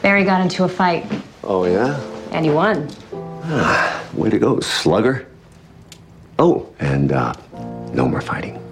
Barry got into a fight. Oh, yeah? And he won. Way to go, slugger. Oh, and no more fighting.